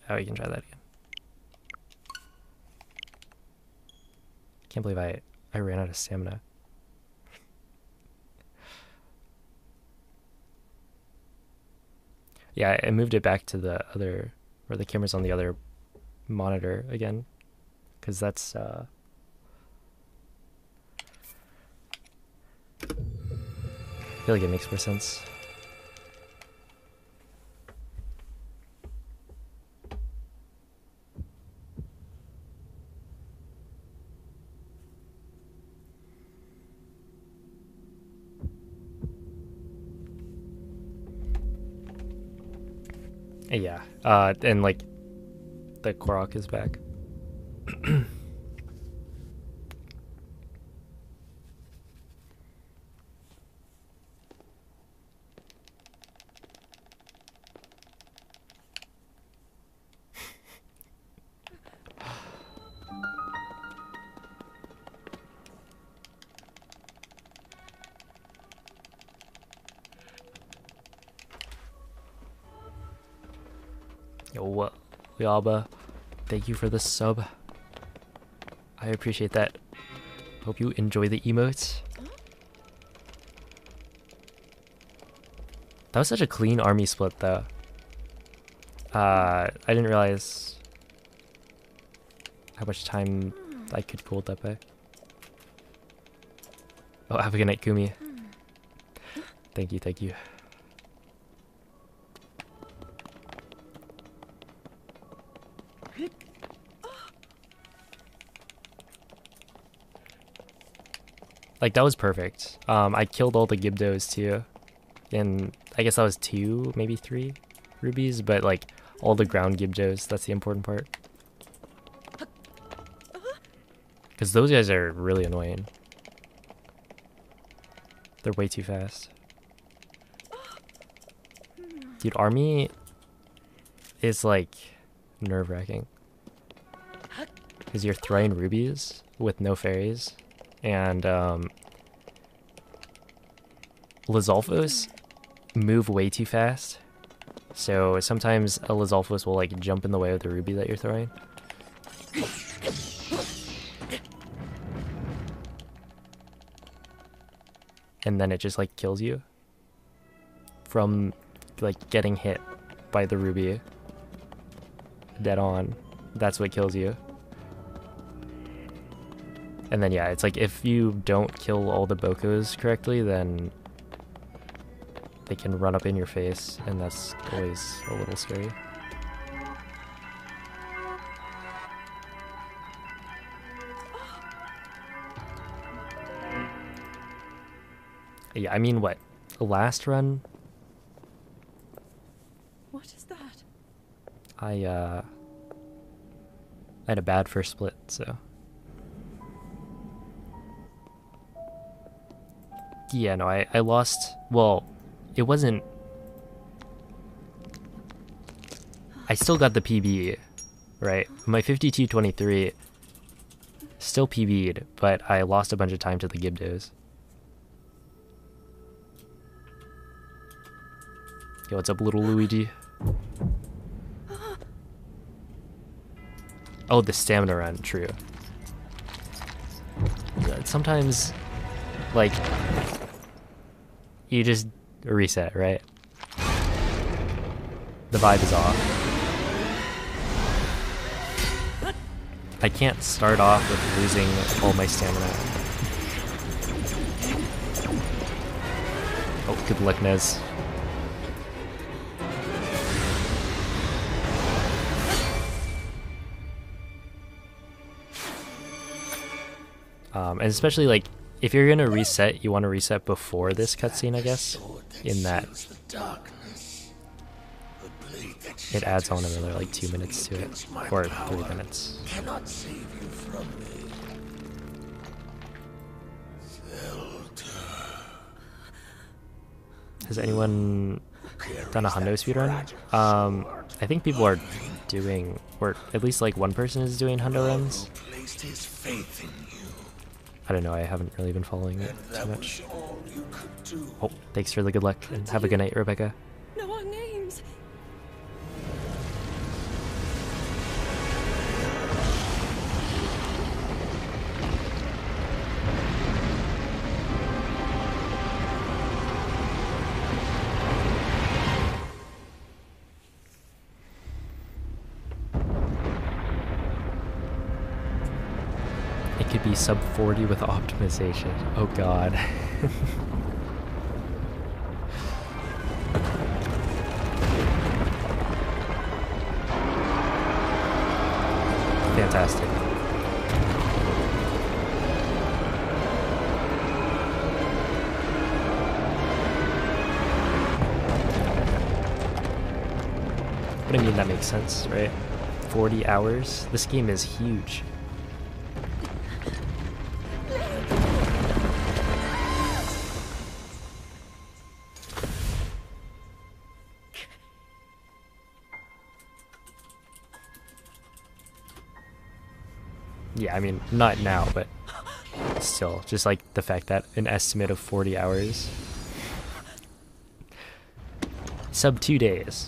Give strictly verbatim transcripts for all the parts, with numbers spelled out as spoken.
Oh, you can try that again. Can't believe I I ran out of stamina. Yeah, I moved it back to the other, or the camera's on the other monitor again, because that's uh I feel like it makes more sense. Yeah, uh, and like the Korok is back. Yo, Liaba, thank you for the sub. I appreciate that. Hope you enjoy the emotes. That was such a clean army split, though. Uh, I didn't realize how much time I could hold that by. Oh, have a good night, Kumi. Thank you, thank you. Like, that was perfect. Um, I killed all the Gibdos too. And I guess that was two, maybe three rubies, but like all the ground Gibdos, that's the important part. Because those guys are really annoying. They're way too fast. Dude, army is like nerve-wracking. Because you're throwing rubies with no fairies. And um, Lizalfos move way too fast. So sometimes a Lizalfos will like jump in the way of the ruby that you're throwing. And then it just like kills you from like getting hit by the ruby dead on. That's what kills you. And then yeah, it's like if you don't kill all the Bokos correctly, then they can run up in your face, and that's always a little scary. Yeah, I mean, what? Last run? What is that? I, uh... I had a bad first split, so... Yeah, no, I, I lost... Well, it wasn't... I still got the P B, right? My fifty-two twenty-three still P B'd, but I lost a bunch of time to the Gibdos. Yo, what's up, little Luigi? Oh, the stamina run, true. Sometimes, like, you just reset, right? The vibe is off. I can't start off with losing all my stamina. Oh, good luck, Nez. Um, and especially, like, if you're gonna reset, you want to reset before this cutscene, I guess, in that it adds on another, like, two minutes to it, or three minutes. Cannot save you from me. Has anyone done a hundo speedrun? Um, I think people are doing, or at least, like, one person is doing hundo runs. I don't know, I haven't really been following it too much. Oh, thanks for the good luck, and have a good night, Rebecca. Know our names. be sub forty with optimization. Oh god. Fantastic. But I mean, that makes sense, right? forty hours? This game is huge. Yeah, I mean, not now, but still, just like the fact that an estimate of forty hours. Sub two days.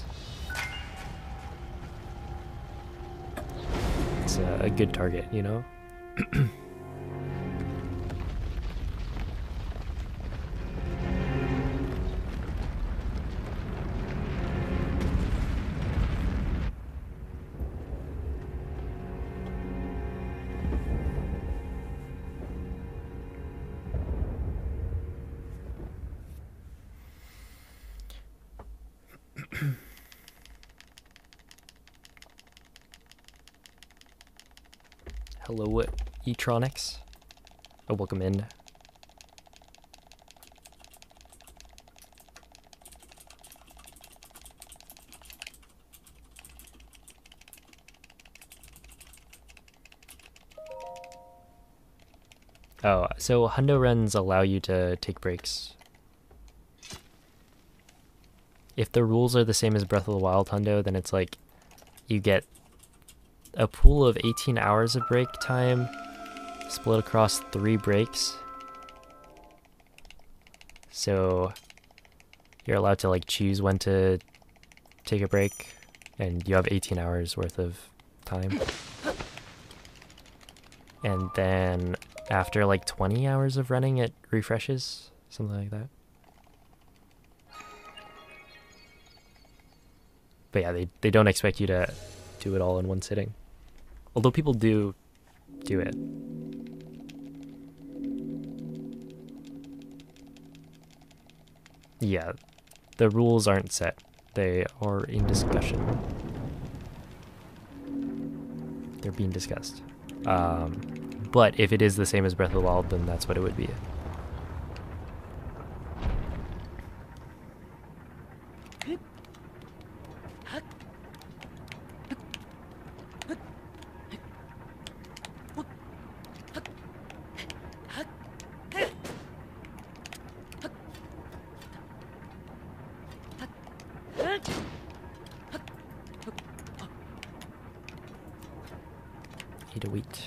It's a, a good target, you know? Hello, Etronics. Oh, welcome in. Oh, so hundo runs allow you to take breaks. If the rules are the same as Breath of the Wild hundo, then it's like you get a pool of eighteen hours of break time split across three breaks. So you're allowed to like choose when to take a break, and you have eighteen hours worth of time. And then after like twenty hours of running, it refreshes, something like that. But yeah, they, they don't expect you to do it all in one sitting. Although people do do it. Yeah, the rules aren't set. They are in discussion. They're being discussed. Um, but if it is the same as Breath of the Wild, then that's what it would be. Need to wait.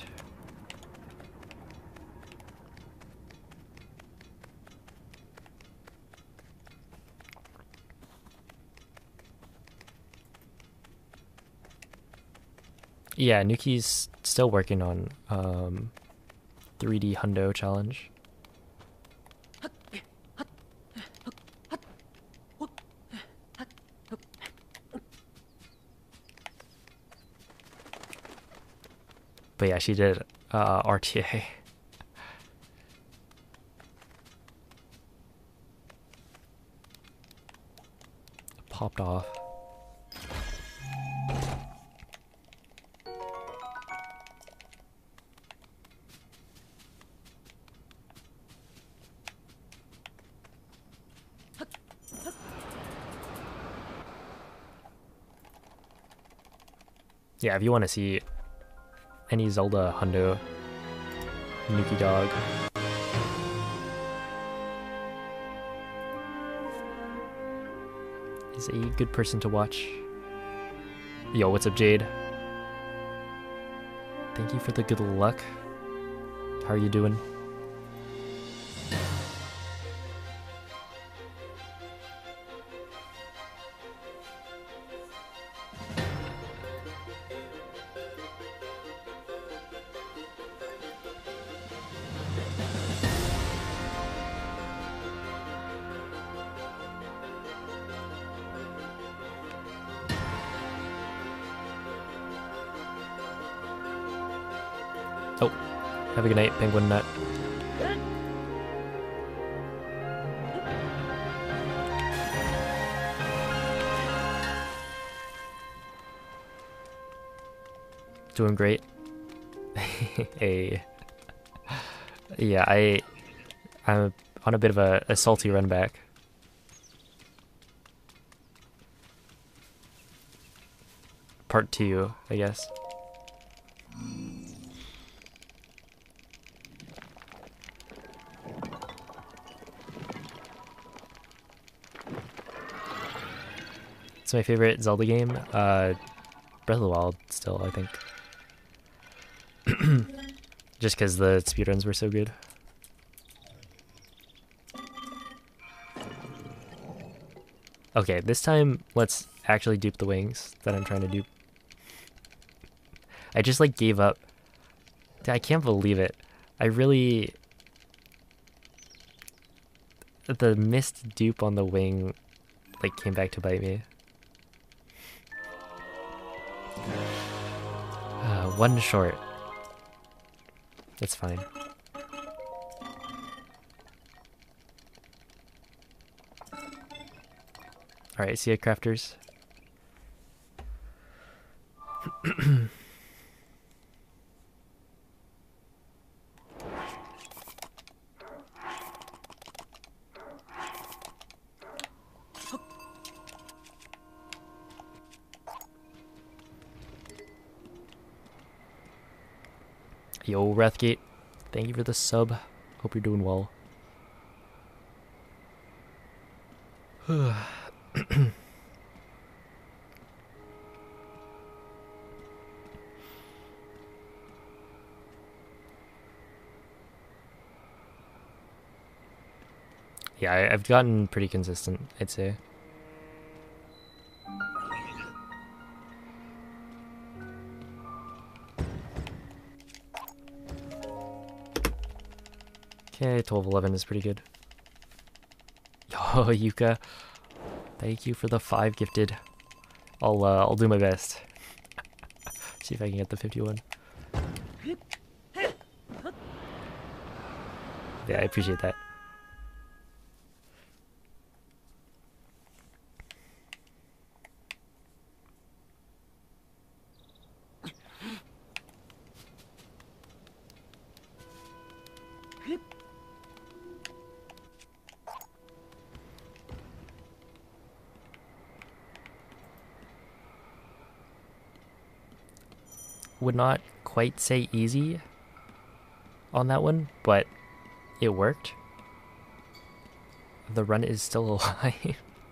Yeah, Nuki's still working on um, three D Hundo challenge. But yeah, she did uh, R T A. Popped off. Yeah, if you want to see any Zelda hundo, Nuki Dog. Is a good person to watch. Yo, what's up, Jade? Thank you for the good luck. How are you doing? Have a good night, Penguin Nut. Doing great. Hey. Yeah, I I'm on a bit of a, a salty run back. Part two, I guess. It's my favorite Zelda game. Uh, Breath of the Wild, still, I think. Just because the speedruns were so good. Okay, this time let's actually dupe the wings that I'm trying to dupe. I just like gave up. I can't believe it. I really... The missed dupe on the wing like came back to bite me. Uh, one short. It's fine. Alright, see ya, crafters. Yo, Wrathgate, thank you for the sub. Hope you're doing well. Yeah, I, I've gotten pretty consistent, I'd say. Okay, twelve eleven is pretty good. Yo, Yuka, thank you for the five gifted. I'll uh, I'll do my best. See if I can get the fifty-one. Yeah, I appreciate that. Would not quite say easy on that one, but it worked. The run is still alive.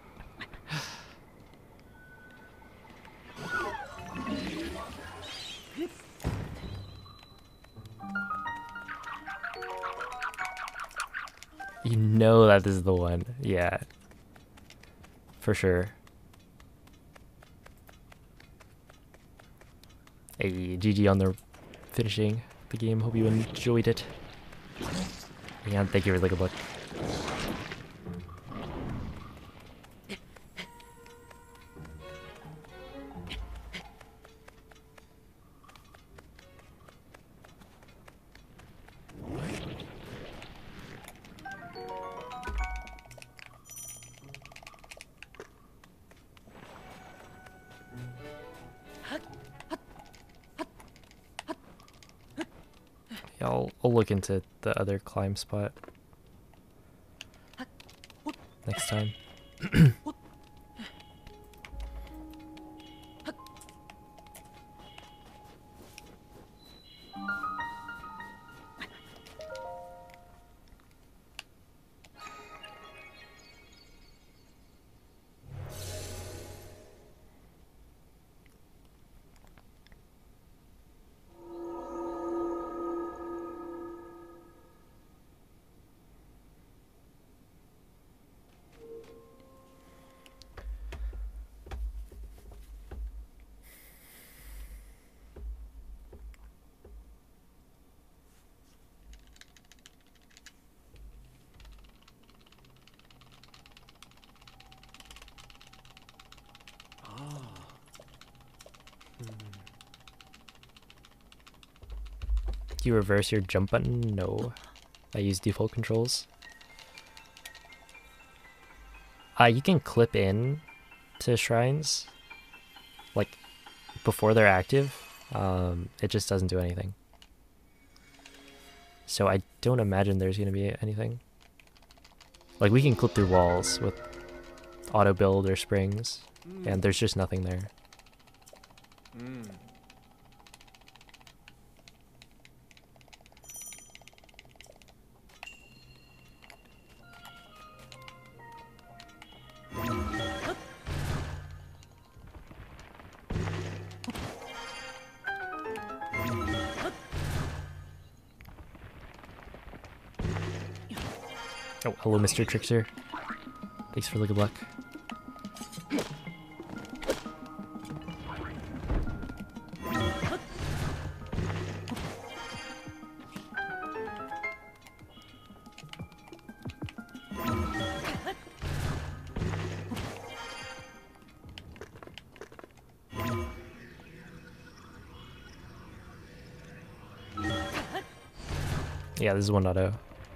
You know that this is the one. Yeah. For sure. Hey, G G on the finishing the game. Hope you enjoyed it. And thank you for the good luck. Yeah, I'll, I'll look into the other climb spot next time. Can you reverse your jump button? No. I use default controls. Uh, you can clip in to shrines, like, before they're active. Um, it just doesn't do anything. So I don't imagine there's going to be anything. Like, we can clip through walls with auto build or springs, mm. and there's just nothing there. Mm. Oh, hello, Mister Trickster. Thanks for the good luck. Yeah, this is one point oh.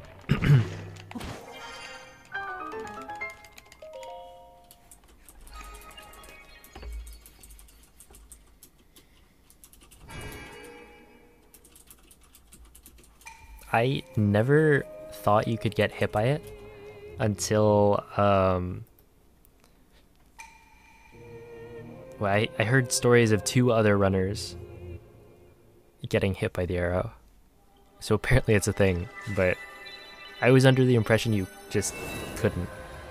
I never thought you could get hit by it until um, well, I, I heard stories of two other runners getting hit by the arrow. So apparently it's a thing, but I was under the impression you just couldn't.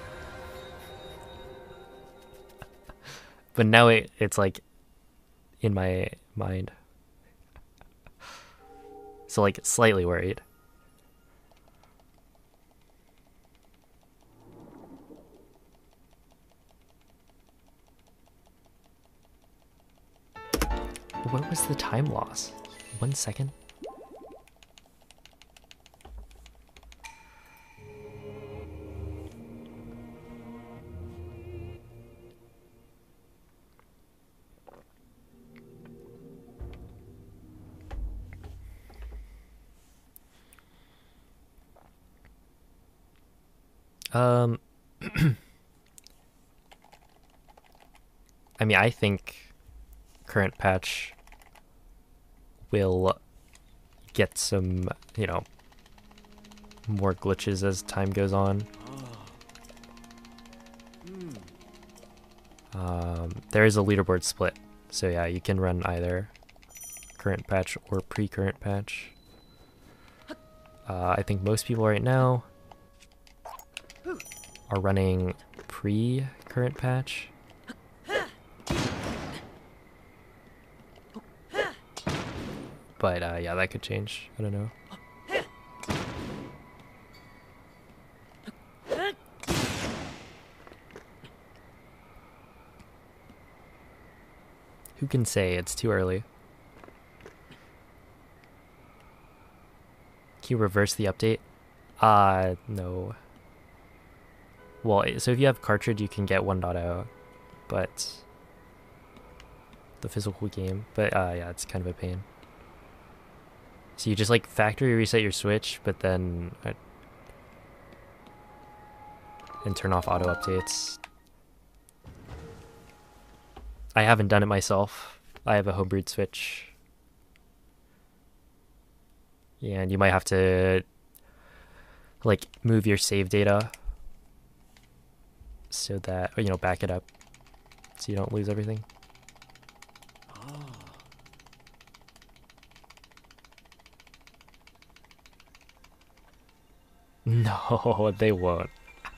But now it, it's like in my mind. So like slightly worried. What was the time loss? One second? Um, I mean, I think current patch will get some, you know, more glitches as time goes on. Um, there is a leaderboard split, so yeah, you can run either current patch or pre-current patch. Uh, I think most people right now are running pre-current patch. But uh, yeah, that could change. I don't know. Who can say? It's too early. Can you reverse the update? Uh, no. Well, so if you have cartridge, you can get one point oh, but the physical game, but uh, yeah, it's kind of a pain. So you just like factory reset your Switch, but then uh, and turn off auto updates. I haven't done it myself. I have a homebrewed Switch. Yeah, and you might have to like move your save data so that, or, you know, back it up so you don't lose everything. Oh. No, they won't.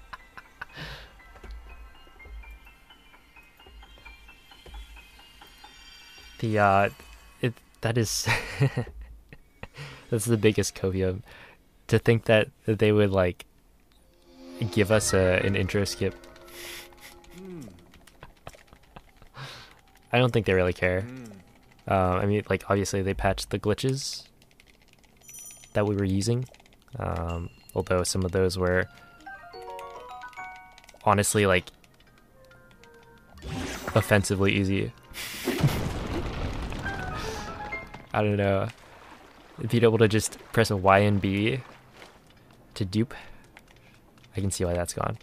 The uh it that is that's the biggest copium, to think that, that they would like give us a an intro skip. Mm. I don't think they really care. Mm. Uh, I mean, like, obviously they patched the glitches that we were using, um, although some of those were honestly like offensively easy. I don't know. being able to just press a Y and B to dupe, I can see why that's gone.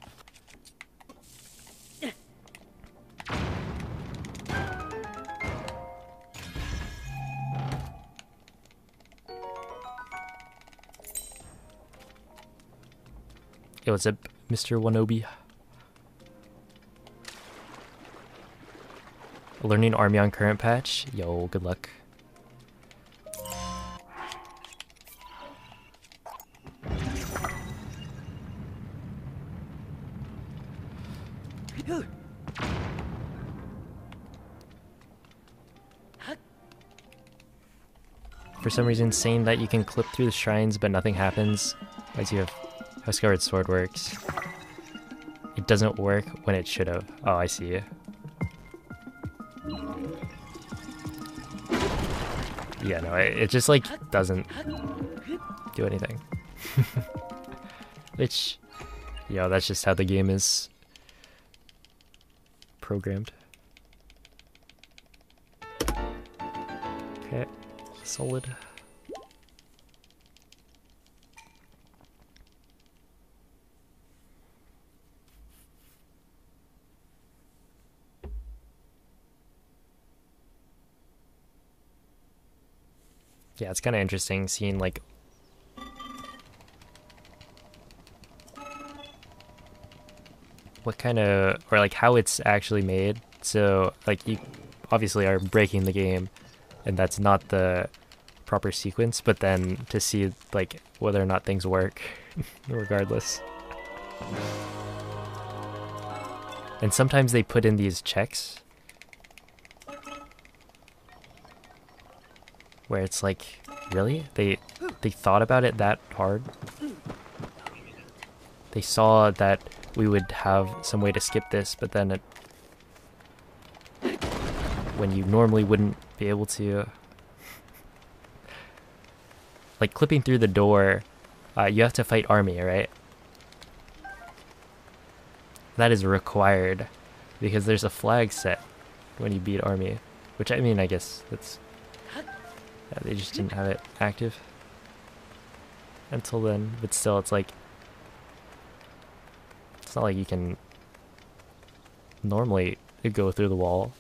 Yo, what's up, Mister Wanobi? Learning army on current patch? Yo, good luck. For some reason, saying that you can clip through the shrines but nothing happens, as you have how Skyward Sword works. It doesn't work when it should have. Oh, I see. Yeah, no, it, it just like doesn't do anything. Which, yo, that's just how the game is programmed. Okay, solid. Yeah, it's kind of interesting seeing like what kind of, or like how it's actually made. So like you obviously are breaking the game and that's not the proper sequence, but then to see like whether or not things work regardless. And sometimes they put in these checks where it's like, really? They they thought about it that hard? They saw that we would have some way to skip this, but then it, when you normally wouldn't be able to, like clipping through the door, uh, you have to fight army, right? That is required because there's a flag set when you beat army, which I mean, I guess that's, yeah, they just didn't have it active until then, but still it's like, it's not like you can normally go through the wall.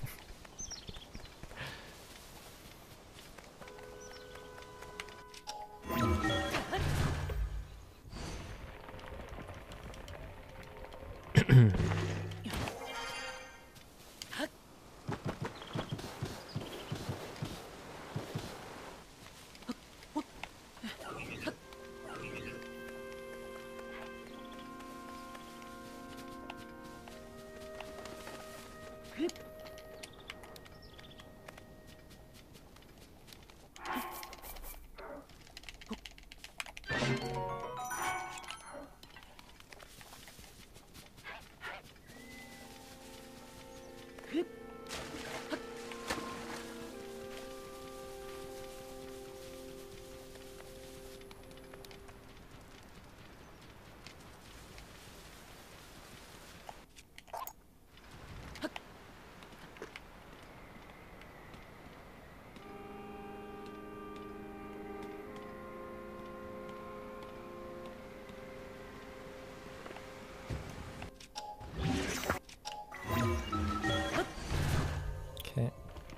Okay.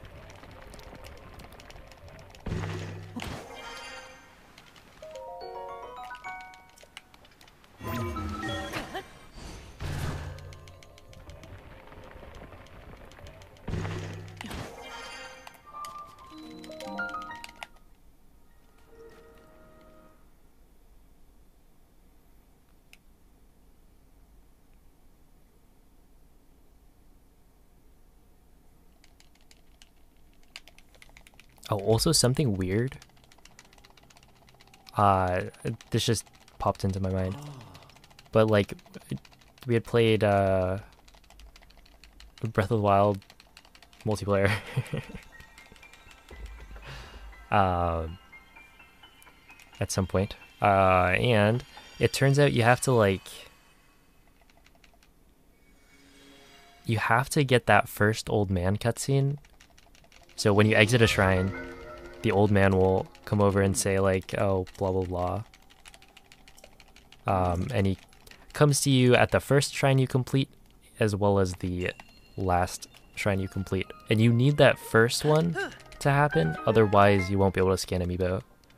Oh, also something weird. Uh, this just popped into my mind. But like, we had played uh, Breath of the Wild multiplayer. um, at some point. Uh, and it turns out you have to like, you have to get that first old man cutscene. So when you exit a shrine, the old man will come over and say like, oh, blah blah blah. Um, and he comes to you at the first shrine you complete, as well as the last shrine you complete. And you need that first one to happen, otherwise you won't be able to scan amiibo.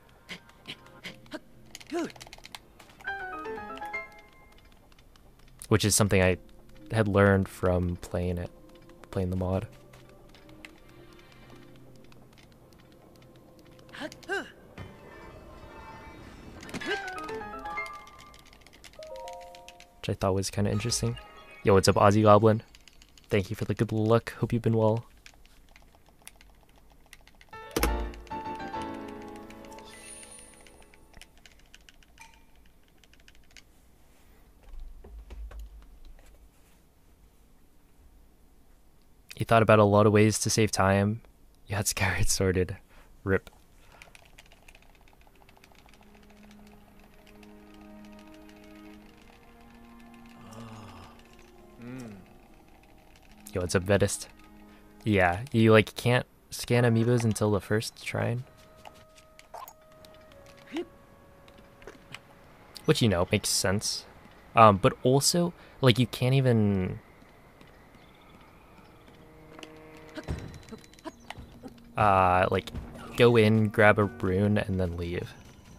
Which is something I had learned from playing it, playing the mod. Which I thought was kind of interesting. Yo, what's up, Aussie Goblin? Thank you for the good luck. Hope you've been well. You thought about a lot of ways to save time. You had Skyward sorted. Rip. Yo, what's up, Vedist? Yeah, you like can't scan amiibos until the first shrine. Which, you know, makes sense. Um, but also, like, you can't even... Uh, like, go in, grab a rune, and then leave.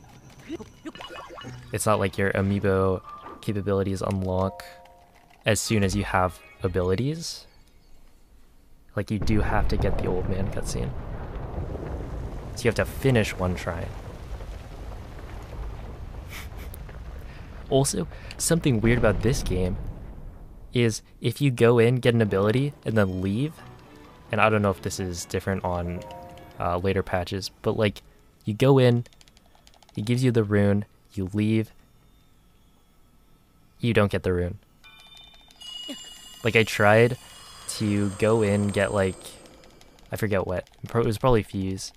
It's not like your amiibo capabilities unlock as soon as you have abilities. Like, you do have to get the old man cutscene. So you have to finish one shrine. Also, something weird about this game is if you go in, get an ability, and then leave, and I don't know if this is different on uh, later patches, but like, you go in, it gives you the rune, you leave, you don't get the rune. Like, I tried to go in, get like, I forget what, it was probably Fuse,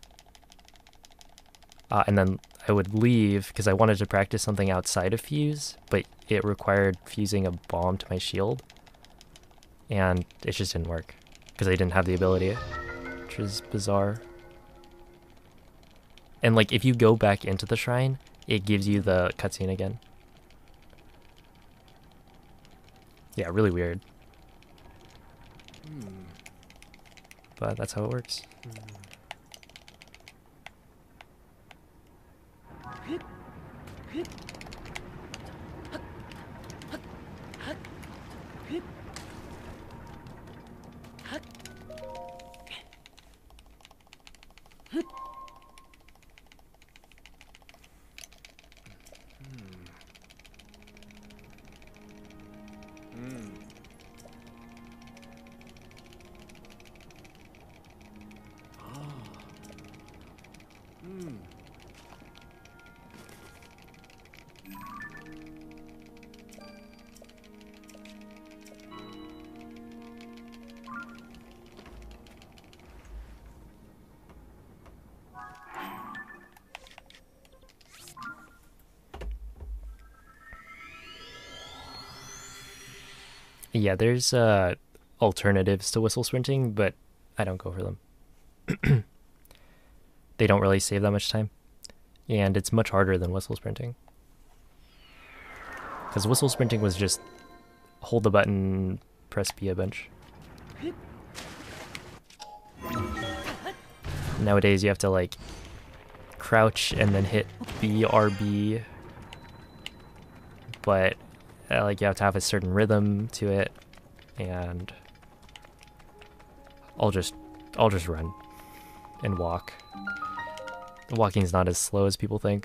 uh, and then I would leave because I wanted to practice something outside of Fuse, but it required fusing a bomb to my shield, and it just didn't work because I didn't have the ability, which is bizarre. And like, if you go back into the shrine, it gives you the cutscene again. Yeah, really weird. Hmm. But that's how it works. Yeah, there's uh, alternatives to whistle sprinting, but I don't go for them. They don't really save that much time, and it's much harder than whistle sprinting. Because whistle sprinting was just hold the button, press B a bunch. Nowadays you have to like crouch and then hit B R B, but uh, like you have to have a certain rhythm to it, and I'll just I'll just run and walk. Walking's not as slow as people think.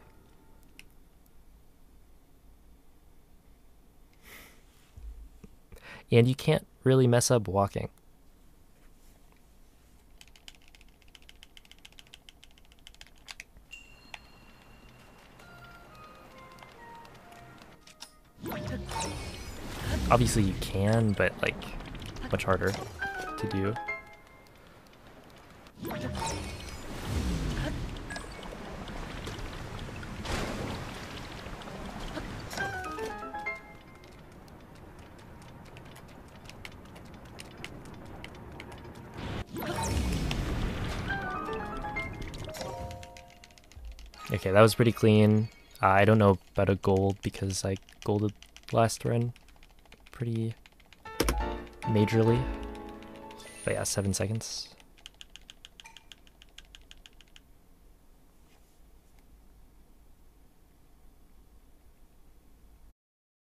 And you can't really mess up walking. Obviously you can, but like much harder to do. Okay, that was pretty clean. Uh, I don't know about a gold because I golded last run pretty majorly. But yeah, seven seconds.